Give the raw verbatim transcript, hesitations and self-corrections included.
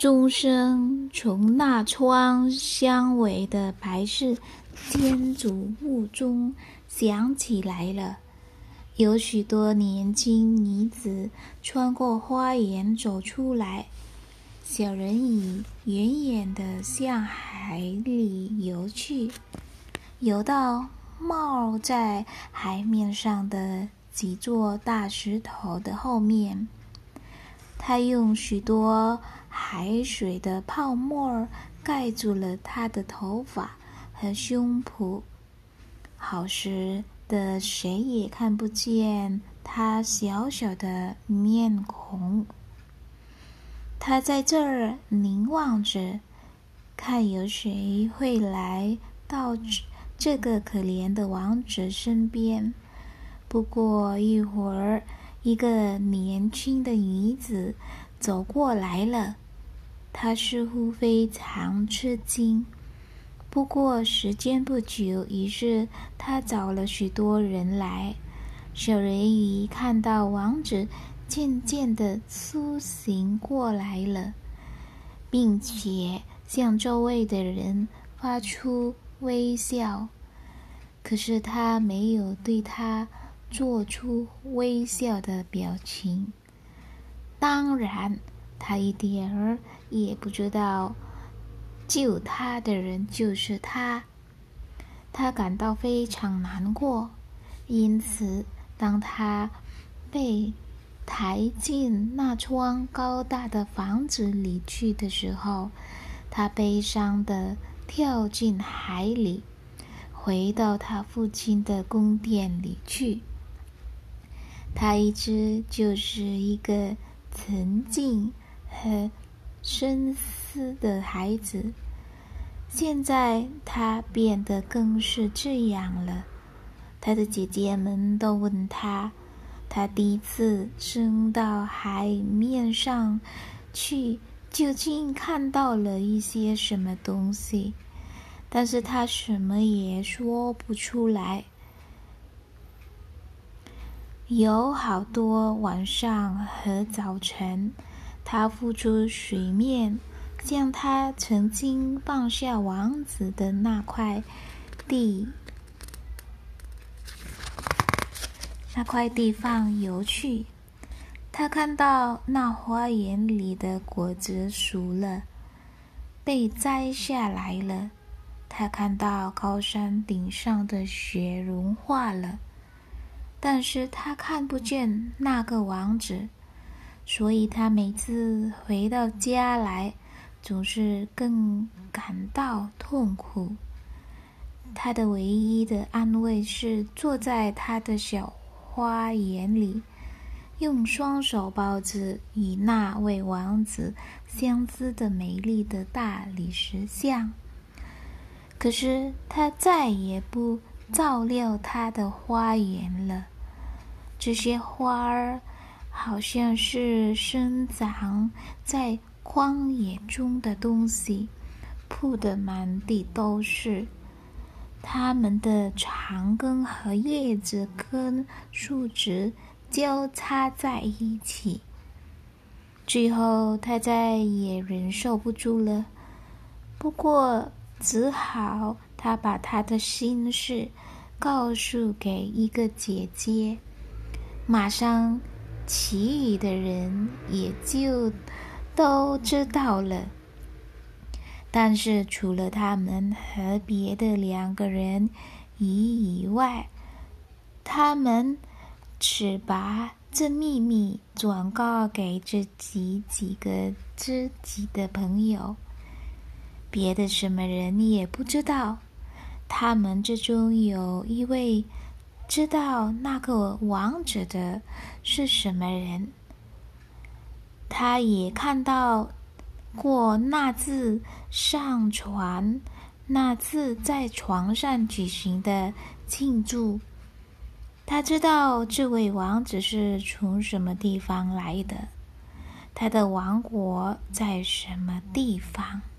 钟声从那窗相围的白色建筑物中响起来了，有许多年轻女子穿过花园走出来，小人鱼远远地向海里游去，游到冒在海面上的几座大石头的后面。他用许多海水的泡沫盖住了他的头发和胸脯，好使得谁也看不见他小小的面孔。他在这儿凝望着，看有谁会来到这个可怜的王子身边。不过一会儿，一个年轻的女子走过来了，她似乎非常吃惊。不过时间不久，于是她找了许多人来。小人鱼看到王子渐渐地苏醒过来了，并且向周围的人发出微笑，可是他没有对他做出微笑的表情。当然，他一点儿也不知道救他的人就是他。他感到非常难过，因此当他被抬进那幢高大的房子里去的时候，他悲伤地跳进海里，回到他父亲的宫殿里去。他一直就是一个沉静和深思的孩子，现在他变得更是这样了。他的姐姐们都问他，他第一次升到海面上去究竟看到了一些什么东西，但是他什么也说不出来。有好多晚上和早晨，他浮出水面，向他曾经放下王子的那块地那块地方游去。他看到那花园里的果子熟了，被摘下来了。他看到高山顶上的雪融化了，但是他看不见那个王子，所以他每次回到家来，总是更感到痛苦。他的唯一的安慰是坐在他的小花园里，用双手抱着与那位王子相似的美丽的大理石像。可是他再也不照料他的花园了，这些花儿好像是生长在荒野中的东西，铺得满地都是。它们的长根和叶子跟树枝交叉在一起。最后他再也忍受不住了，不过只好他把他的心事告诉给一个姐姐，马上其余的人也就都知道了。但是除了他们和别的两个人以外，他们只把这秘密转告给自己几个知己的朋友，别的什么人也不知道。他们之中有一位知道那个王子的是什么人，他也看到过那次上船，那次在床上举行的庆祝。他知道这位王子是从什么地方来的，他的王国在什么地方。